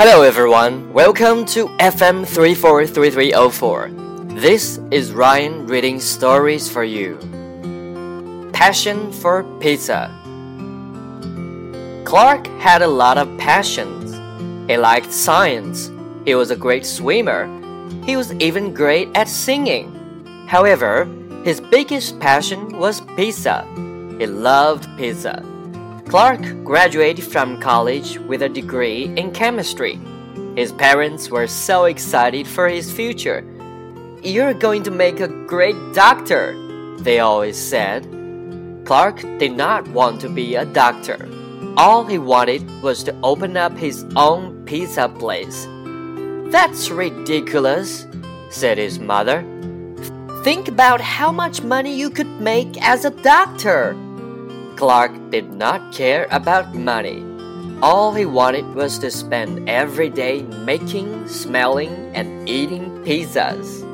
Hello everyone, welcome to FM 343304. This is Ryan reading stories for you. Passion for pizza. Clark had a lot of passions. He liked science. He was a great swimmer. He was even great at singing. However, his biggest passion was pizza. He loved pizza. Clark graduated from college with a degree in chemistry. His parents were so excited for his future. "You're going to make a great doctor," they always said. Clark did not want to be a doctor. All he wanted was to open up his own pizza place. "That's ridiculous," said his mother. "Think about how much money you could make as a doctor." Clark did not care about money. All he wanted was to spend every day making, smelling, and eating pizzas.